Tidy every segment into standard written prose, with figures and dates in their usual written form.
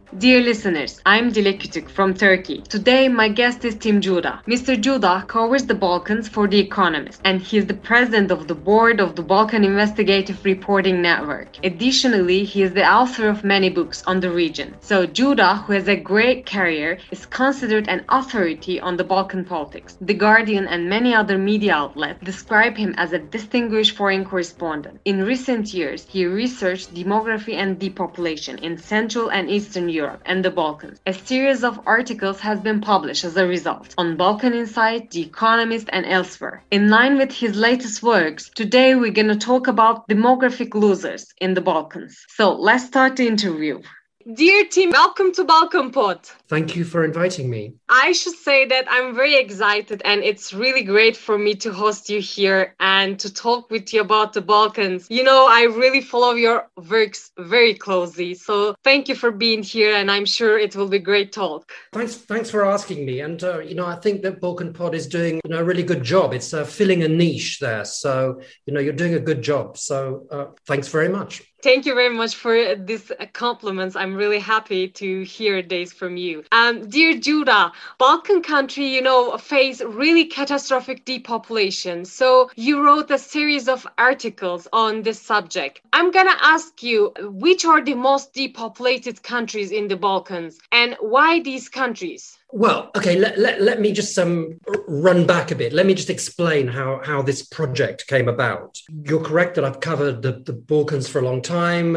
Dear listeners, I'm Dilek Kütük from Turkey. Today, my guest is Tim Judah. Mr. Judah covers the Balkans for The Economist, and he is the president of the board of the Balkan Investigative Reporting Network. Additionally, he is the author of many books on the region. So, Judah, who has a great career, is considered an authority on the Balkan politics. The Guardian and many other media outlets describe him as a distinguished foreign correspondent. In recent years, he researched demography and depopulation in Central and Eastern Europe and the Balkans. A series of articles has been published as a result on Balkan Insight, The Economist, and elsewhere. In line with his latest works, today we're going to talk about demographic losers in the Balkans. So let's start the interview. Dear Tim, welcome to Balkan Pod. Thank you for inviting me. I should say that I'm very excited and it's really great for me to host you here and to talk with you about the Balkans. You know, I really follow your works very closely. So thank you for being here and I'm sure it will be a great talk. Thanks for asking me. And, I think that Balkan Pod is doing a really good job. It's filling a niche there. So, you're doing a good job. So thanks very much. Thank you very much for these compliments. I'm really happy to hear this from you. Dear Judah, Balkan country, face really catastrophic depopulation. So you wrote a series of articles on this subject. I'm going to ask you, which are the most depopulated countries in the Balkans and why these countries? Well, okay, let me just run back a bit. Let me just explain how this project came about. You're correct that I've covered the Balkans for a long time.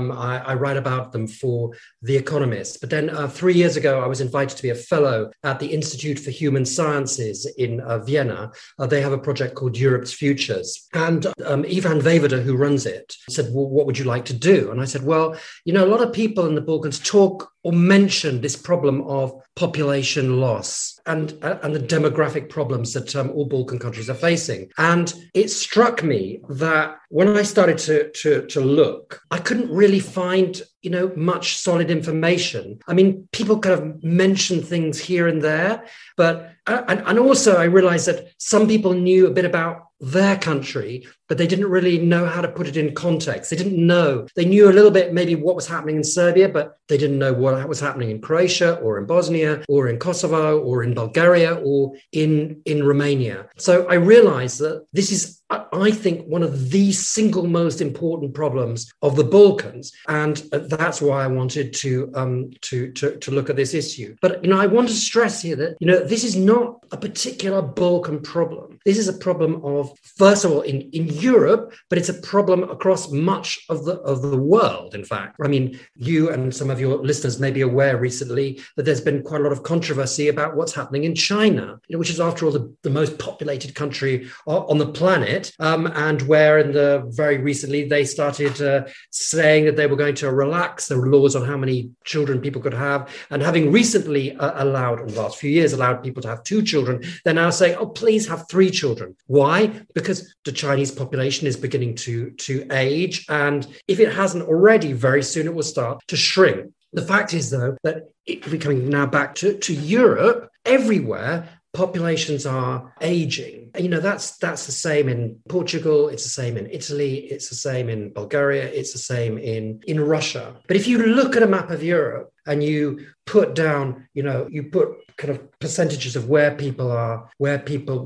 I write about them for The Economist. But then 3 years ago, I was invited to be a fellow at the Institute for Human Sciences in Vienna. They have a project called Europe's Futures. And Ivan Vejvoda, who runs it, said, well, what would you like to do? And I said, well, a lot of people in the Balkans talk or mention this problem of population loss and the demographic problems that all Balkan countries are facing. And it struck me that when I started to look, I couldn't really find much solid information. I mean, people kind of mention things here and there, but and also I realized that some people knew a bit about their country, but they didn't really know how to put it in context. They didn't know. They knew a little bit maybe what was happening in Serbia, but they didn't know what was happening in Croatia or in Bosnia or in Kosovo or in Bulgaria or in Romania. So I realized that this is, I think, one of the single most important problems of the Balkans, and that's why I wanted to look at this issue. But I want to stress here that this is not a particular Balkan problem. This is a problem of, first of all, in Europe, but it's a problem across much of the world. In fact, I mean, you and some of your listeners may be aware recently that there's been quite a lot of controversy about what's happening in China, which is, after all, the most populated country on the planet. And where very recently they started saying that they were going to relax the laws on how many children people could have. And having recently in the last few years, allowed people to have 2 children, they're now saying, oh, please have 3 children. Why? Because the Chinese population is beginning to age. And if it hasn't already, very soon it will start to shrink. The fact is, though, that if we're coming now back to Europe, everywhere, populations are aging. That's the same in Portugal, it's the same in Italy, it's the same in Bulgaria, it's the same in Russia. But if you look at a map of Europe and you put down, you put kind of percentages of where people are, where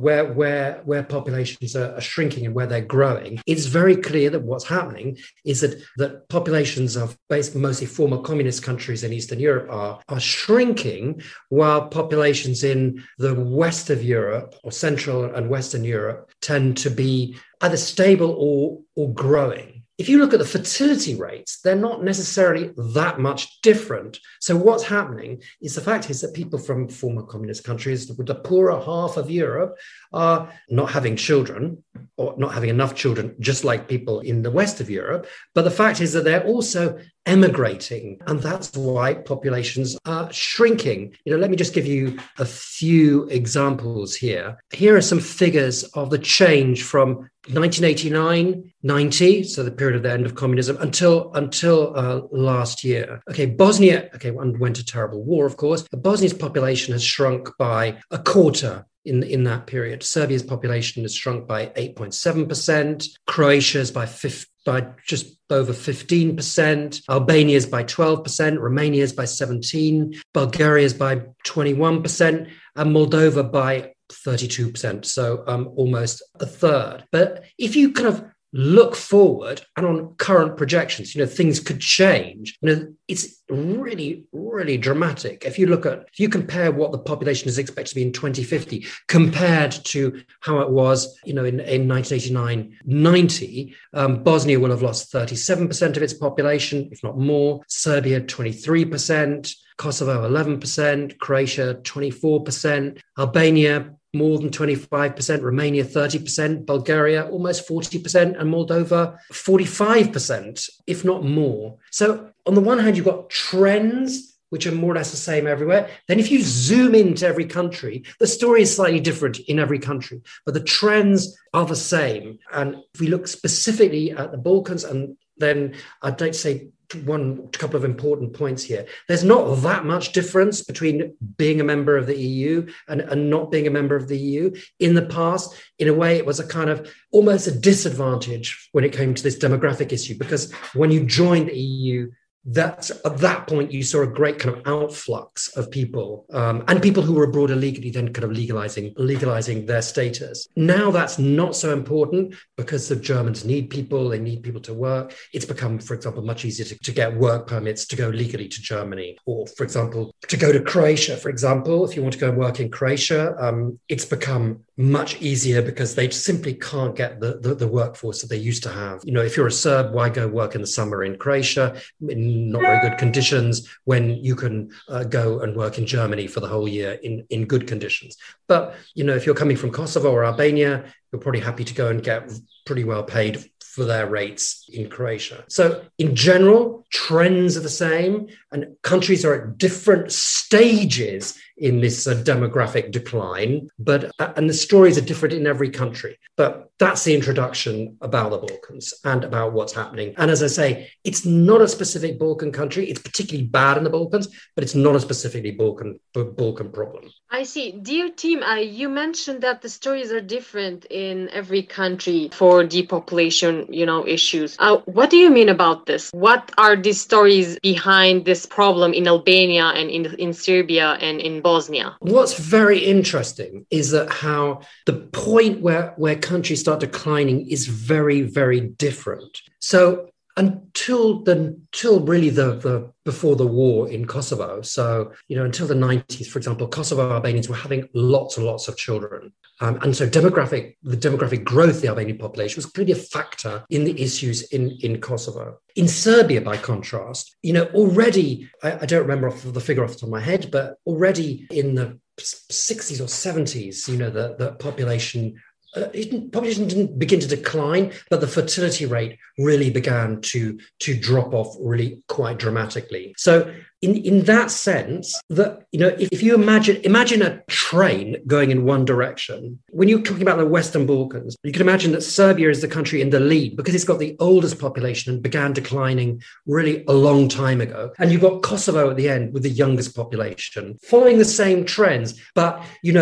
populations are shrinking and where they're growing, it's very clear that what's happening is that populations of mostly former communist countries in Eastern Europe are shrinking, while populations in the west of Europe, or Central and Western Europe, tend to be either stable or growing. If you look at the fertility rates, they're not necessarily that much different. So what's happening is, the fact is that people from former communist countries, the poorer half of Europe, are not having children, or not having enough children, just like people in the west of Europe. But the fact is that they're also emigrating, and that's why populations are shrinking. Let me just give you a few examples here. Here are some figures of the change from 1989-90, so the period of the end of communism, until last year. Okay, Bosnia, underwent a terrible war, of course. But Bosnia's population has shrunk by a quarter in that period. Serbia's population has shrunk by 8.7%. Croatia's by just over 15%, Albania's by 12%, Romania's by 17%, Bulgaria's by 21%, and Moldova by 32%, so almost a third. But if you kind of look forward and on current projections, things could change. It's really, really dramatic. If you compare what the population is expected to be in 2050 compared to how it was, in 1989-90, Bosnia will have lost 37% of its population, if not more. Serbia, 23%. Kosovo, 11%, Croatia, 24%, Albania, more than 25%, Romania, 30%, Bulgaria, almost 40%, and Moldova, 45%, if not more. So on the one hand, you've got trends which are more or less the same everywhere. Then if you zoom into every country, the story is slightly different in every country, but the trends are the same. And if we look specifically at the Balkans, and then I'd like to say a couple of important points here. There's not that much difference between being a member of the EU and not being a member of the EU. In the past, in a way, it was a kind of almost a disadvantage when it came to this demographic issue, because when you joined the EU, at that point, you saw a great kind of outflux of people and people who were abroad illegally, then kind of legalizing their status. Now that's not so important because the Germans need people, they need people to work. It's become, for example, much easier to get work permits to go legally to Germany, or, for example, to go to Croatia, for example. If you want to go and work in Croatia, it's become much easier because they simply can't get the workforce that they used to have. If you're a Serb, why go work in the summer in Croatia in not very good conditions when you can go and work in Germany for the whole year in good conditions? But, if you're coming from Kosovo or Albania, you're probably happy to go and get pretty well paid for their rates in Croatia. So in general, trends are the same and countries are at different stages in this demographic decline, and the stories are different in every country. But that's the introduction about the Balkans and about what's happening. And as I say, it's not a specific Balkan country. It's particularly bad in the Balkans, but it's not a specifically Balkan problem. I see. Dear team, you mentioned that the stories are different in every country for depopulation, issues. What do you mean about this? What are the stories behind this problem in Albania and in Serbia and in Bosnia? What's very interesting is that how the point where countries start declining is very, very different. So until really the before the war in Kosovo, so until the 90s, for example, Kosovo Albanians were having lots and lots of children, and so the demographic growth of the Albanian population was clearly a factor in the issues in Kosovo. In Serbia, by contrast, already I don't remember the figure off the top of my head, but already in the 60s or 70s, the population didn't begin to decline, but the fertility rate really began to drop off really quite dramatically. So in that sense, that if you imagine a train going in one direction, when you're talking about the Western Balkans, you can imagine that Serbia is the country in the lead because it's got the oldest population and began declining really a long time ago. And you've got Kosovo at the end with the youngest population, following the same trends, but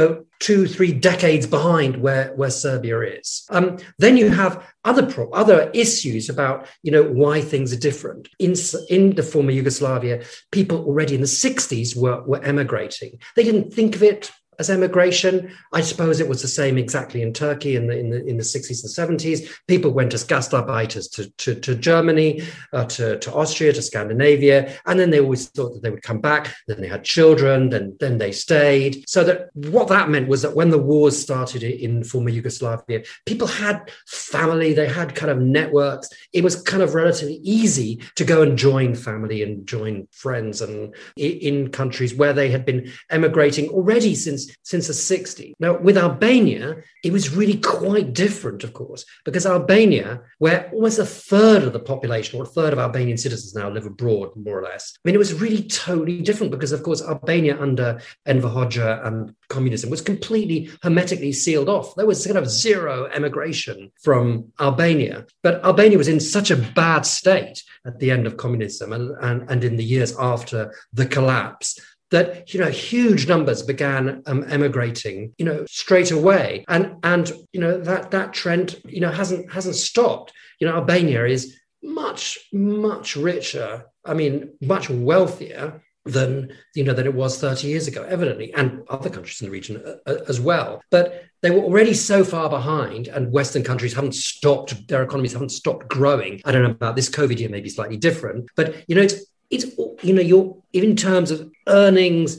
2-3 decades behind where Serbia is. Then you have other issues about why things are different. In the former Yugoslavia, people already in the 60s were emigrating. They didn't think of it as emigration. I suppose it was the same exactly in Turkey in the 60s and 70s. People went as Gastarbeiters to Germany, to Austria, to Scandinavia, and then they always thought that they would come back. Then they had children, then they stayed. So that what that meant was that when the wars started in former Yugoslavia, people had family, they had kind of networks. It was kind of relatively easy to go and join family and join friends, and in countries where they had been emigrating already since the 60s. Now, with Albania, it was really quite different, of course, because Albania, where almost a third of the population, or a third of Albanian citizens now live abroad, more or less, it was really totally different because, of course, Albania under Enver Hoxha and communism was completely hermetically sealed off. There was kind of zero emigration from Albania. But Albania was in such a bad state at the end of communism and in the years after the collapse that, huge numbers began emigrating, straight away. And that trend, hasn't stopped. Albania is much, much richer. I mean, much wealthier than it was 30 years ago, evidently, and other countries in the region as well. But they were already so far behind, and Western countries their economies haven't stopped growing. I don't know about this COVID year, maybe slightly different, but it's you're in terms of earnings,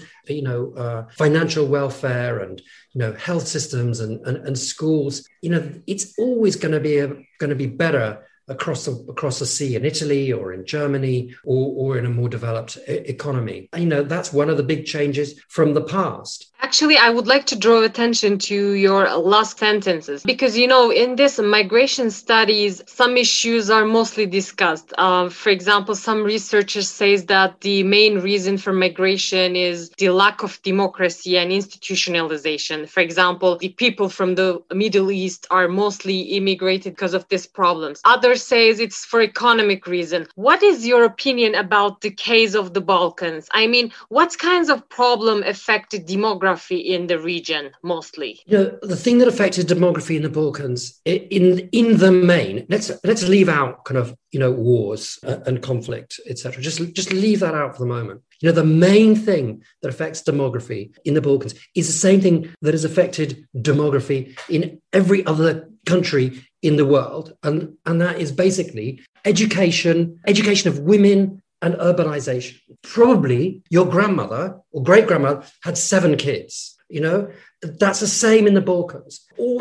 financial welfare, and health systems and schools. It's always going to be better across the sea in Italy or in Germany or in a more developed economy. That's one of the big changes from the past. Actually, I would like to draw attention to your last sentences because, in this migration studies, some issues are mostly discussed. For example, some researchers say that the main reason for migration is the lack of democracy and institutionalization. For example, the people from the Middle East are mostly immigrated because of these problems. Others say it's for economic reason. What is your opinion about the case of the Balkans? I mean, what kinds of problem affected demography in the region mostly? The thing that affected demography in the Balkans, in the main, let's leave out kind of wars and conflict, etc. Just leave that out for the moment. The main thing that affects demography in the Balkans is the same thing that has affected demography in every other country in the world, and that is basically education of women and urbanization. Probably your grandmother or great-grandmother had 7 kids. That's the same in the Balkans or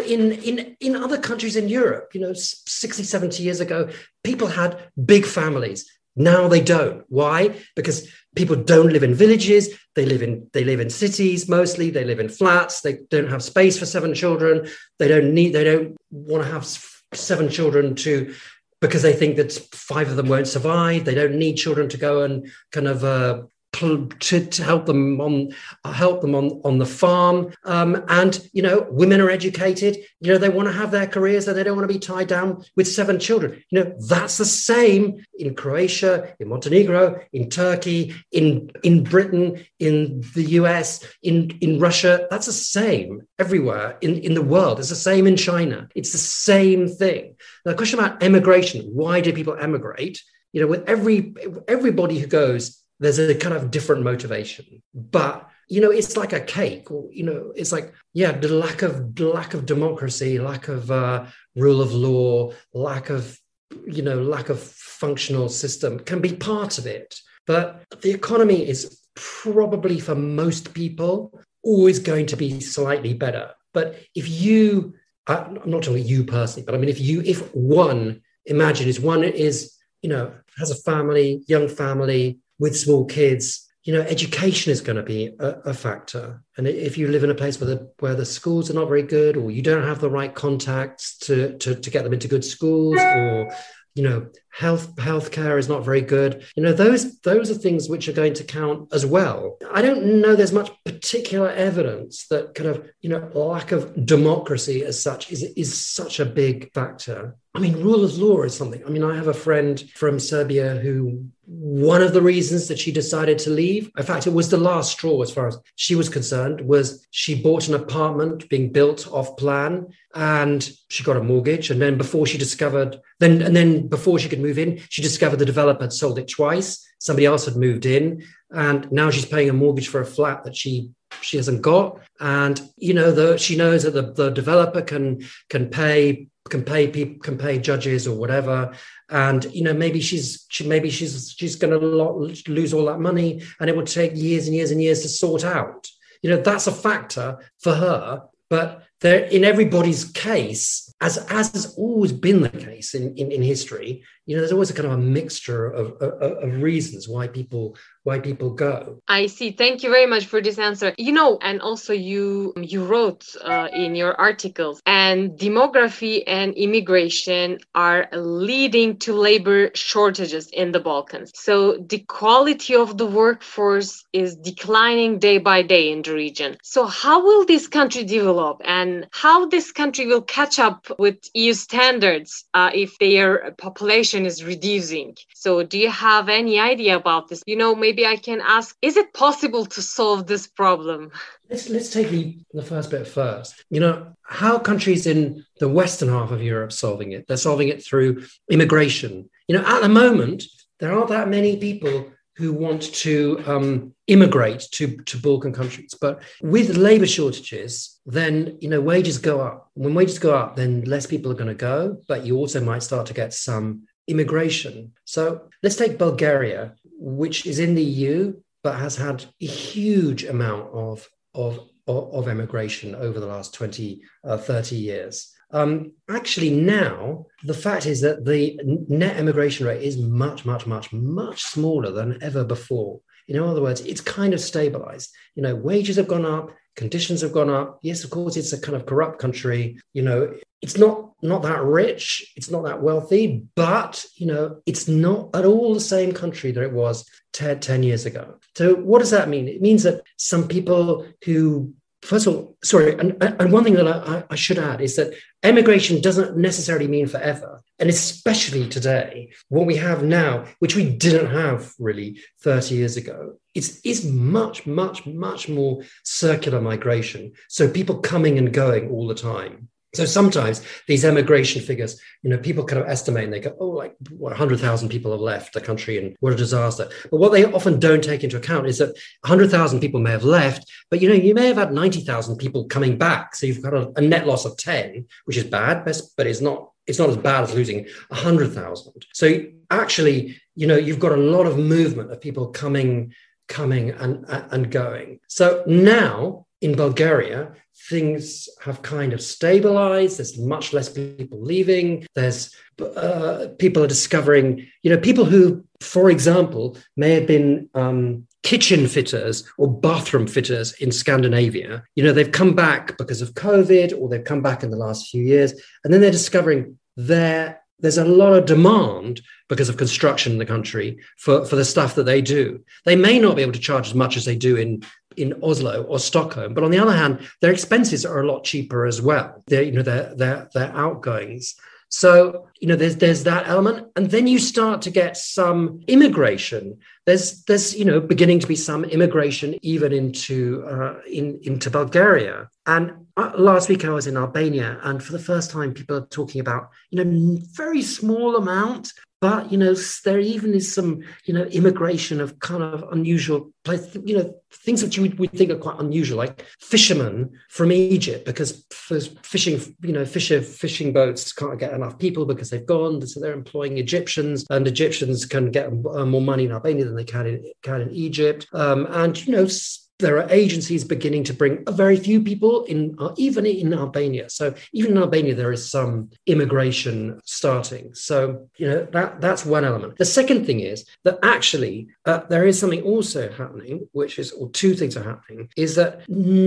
in other countries in Europe. 60, 70 years ago, people had big families. Now they don't. Why? Because people don't live in villages. They live in cities mostly. They live in flats. They don't have space for 7 children. They don't want to have 7 children because they think that 5 of them won't survive. They don't need children to go and kind of to help them on the farm. And women are educated. They want to have their careers and they don't want to be tied down with 7 children. That's the same in Croatia, in Montenegro, in Turkey, in Britain, in the US, in Russia. That's the same everywhere in the world. It's the same in China. It's the same thing. Now, the question about emigration, why do people emigrate? With everybody who goes, there's a kind of different motivation, but it's like a cake, or it's like the lack of democracy, lack of rule of law, lack of functional system can be part of it. But the economy is probably for most people always going to be slightly better. But if I'm not talking about you personally, but I mean if one has a family, young family, with small kids, education is going to be a factor. And if you live in a place where the schools are not very good, or you don't have the right contacts to get them into good schools, or healthcare is not very good. Those are things which are going to count as well. I don't know there's much particular evidence that kind of lack of democracy as such is such a big factor. I mean, rule of law is something. I mean, I have a friend from Serbia who one of the reasons that she decided to leave, in fact, it was the last straw as far as she was concerned, was she bought an apartment being built off plan and she got a mortgage. And then before she could move in, she discovered the developer had sold it twice. Somebody else had moved in, and now she's paying a mortgage for a flat that she hasn't got. And, she knows that the developer can pay judges or whatever, and maybe she's going to lose all that money, and it would take years and years and years to sort out. That's a factor for her. But there, in everybody's case, as has always been the case in history, there's always a kind of a mixture of reasons why people go. I see. Thank you very much for this answer. And also you wrote in your articles, and demography and immigration are leading to labor shortages in the Balkans. So the quality of the workforce is declining day by day in the region. So how will this country develop, and and how this country will catch up with EU standards if their population is reducing. So do you have any idea about this? Maybe I can ask, is it possible to solve this problem? Let's take the first bit first. How countries in the western half of Europe solving it? They're solving it through immigration. At the moment, there aren't that many people who want to immigrate to Balkan countries. But with labor shortages, then, wages go up. When wages go up, then less people are going to go, but you also might start to get some immigration. So let's take Bulgaria, which is in the EU, but has had a huge amount of immigration over the last 20, 30 years. Actually, now, the fact is that the net immigration rate is much, much, much, much smaller than ever before. In other words, it's kind of stabilized. Wages have gone up, conditions have gone up. Yes, of course, it's a kind of corrupt country. It's not that rich, it's not that wealthy, but, it's not at all the same country that it was 10 years ago. So what does that mean? It means that some people who, first of all, and one thing that I should add is that emigration doesn't necessarily mean forever. And especially today, what we have now, which we didn't have really 30 years ago, is much, much, much more circular migration. So people coming and going all the time. So sometimes these emigration figures, people kind of estimate and they go, 100,000 people have left the country and what a disaster. But what they often don't take into account is that 100,000 people may have left, but, you may have had 90,000 people coming back. So you've got a net loss of 10, which is bad, but it's not as bad as losing 100,000. So actually, you've got a lot of movement of people coming and going. So now in Bulgaria, things have kind of stabilized. There's much less people leaving. There's people are discovering, people who, for example, may have been kitchen fitters or bathroom fitters in Scandinavia. They've come back because of COVID, or they've come back in the last few years, and then they're discovering there's a lot of demand because of construction in the country for the stuff that they do. They may not be able to charge as much as they do in Oslo or Stockholm, but on the other hand, their expenses are a lot cheaper as well. Their outgoings. So, there's that element. And then you start to get some immigration. There's beginning to be some immigration even into Bulgaria. And last week I was in Albania, and for the first time, people are talking about, very small amount, but, there even is some, immigration of kind of unusual places, things that you would think are quite unusual, like fishermen from Egypt, because fishing boats can't get enough people because they've gone. So they're employing Egyptians, and Egyptians can get more money in Albania than they can in Egypt. There are agencies beginning to bring a very few people in, even in Albania. So even in Albania, there is some immigration starting. So, that's one element. The second thing is that actually there is something also happening, or two things are happening, is that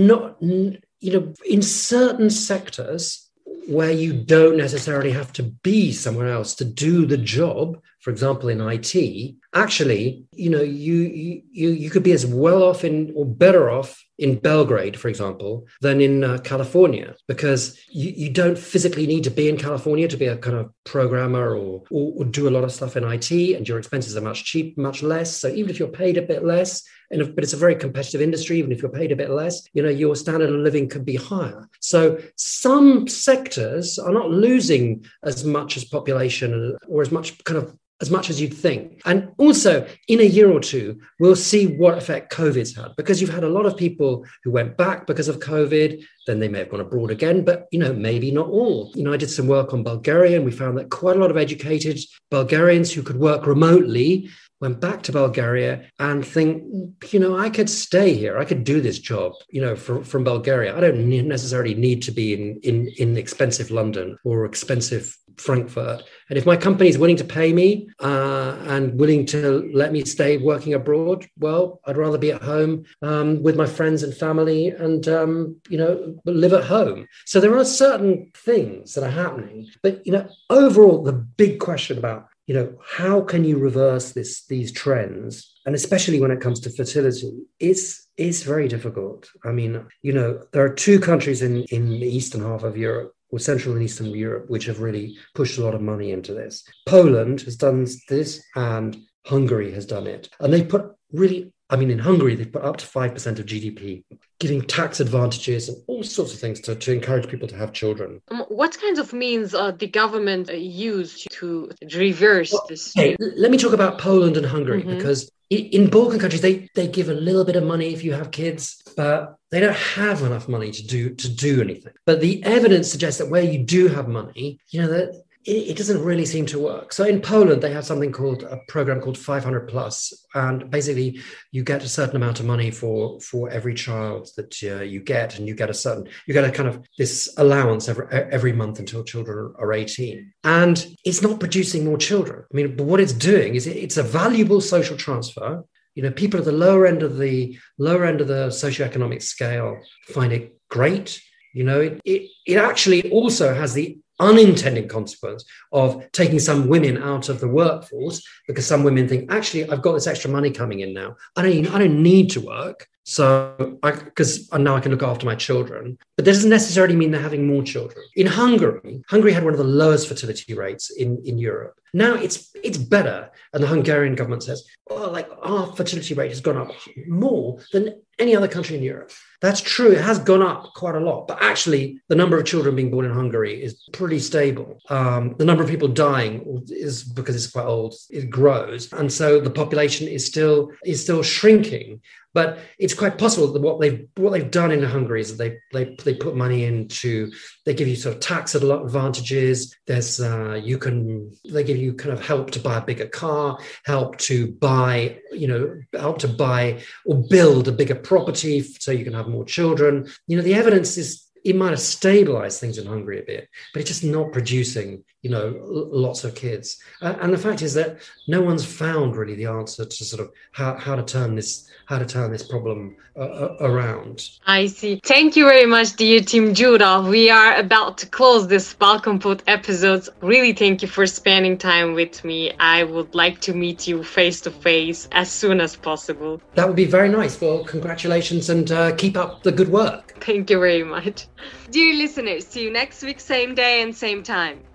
in certain sectors where you don't necessarily have to be somewhere else to do the job, for example, in IT, actually, you could be as well off or better off in Belgrade, for example, than in California, because you don't physically need to be in California to be a kind of programmer or do a lot of stuff in IT, and your expenses are much less. So even if you're paid a bit less, but it's a very competitive industry, even if you're paid a bit less, your standard of living could be higher. So some sectors are not losing as much as population or as much as you'd think. And also, in a year or two, we'll see what effect COVID's had, because you've had a lot of people who went back because of COVID, then they may have gone abroad again, but, maybe not all. I did some work on Bulgaria, and we found that quite a lot of educated Bulgarians who could work remotely went back to Bulgaria and think, I could stay here. I could do this job, from Bulgaria. I don't necessarily need to be in expensive London or expensive Frankfurt. And if my company is willing to pay me and willing to let me stay working abroad, well, I'd rather be at home with my friends and family and, live at home. So there are certain things that are happening. But, overall, the big question about how can you reverse these trends? And especially when it comes to fertility, it's very difficult. I mean, there are two countries in the eastern half of Europe, or Central and Eastern Europe, which have really pushed a lot of money into this. Poland has done this, and Hungary has done it. And they put in Hungary, they've put up to 5% of GDP, giving tax advantages and all sorts of things to encourage people to have children. What kinds of means the government used to reverse this? Okay, let me talk about Poland and Hungary, because in Balkan countries, they give a little bit of money if you have kids, but they don't have enough money to do anything. But the evidence suggests that where you do have money, that it doesn't really seem to work. So in Poland, they have something called a program called 500 Plus. And basically, you get a certain amount of money for every child that you get. And you get a kind of this allowance every month until children are 18. And it's not producing more children. I mean, but what it's doing is it's a valuable social transfer. People at the lower end of the socioeconomic scale find it great. It actually also has the unintended consequence of taking some women out of the workforce, because some women think, actually, I've got this extra money coming in now. I don't need to work. Because now I can look after my children. But that doesn't necessarily mean they're having more children. In Hungary had one of the lowest fertility rates in Europe. Now it's better. And the Hungarian government says, our fertility rate has gone up more than any other country in Europe. That's true. It has gone up quite a lot. But actually, the number of children being born in Hungary is pretty stable. The number of people dying is, because it's quite old, it grows. And so the population is still shrinking. But it's quite possible that what they've done in Hungary is that they put money into, they give you sort of tax advantages. There's they give you kind of help to buy a bigger car, help to buy or build a bigger property so you can have more children. The evidence is it might have stabilized things in Hungary a bit, but it's just not producing, lots of kids. And the fact is that no one's found really the answer to sort of how to turn this problem around. I see. Thank you very much, dear Team Judah. We are about to close this Balkan Pod episode. Really, thank you for spending time with me. I would like to meet you face to face as soon as possible. That would be very nice. Well, congratulations, and keep up the good work. Thank you very much. Dear listeners, see you next week, same day and same time.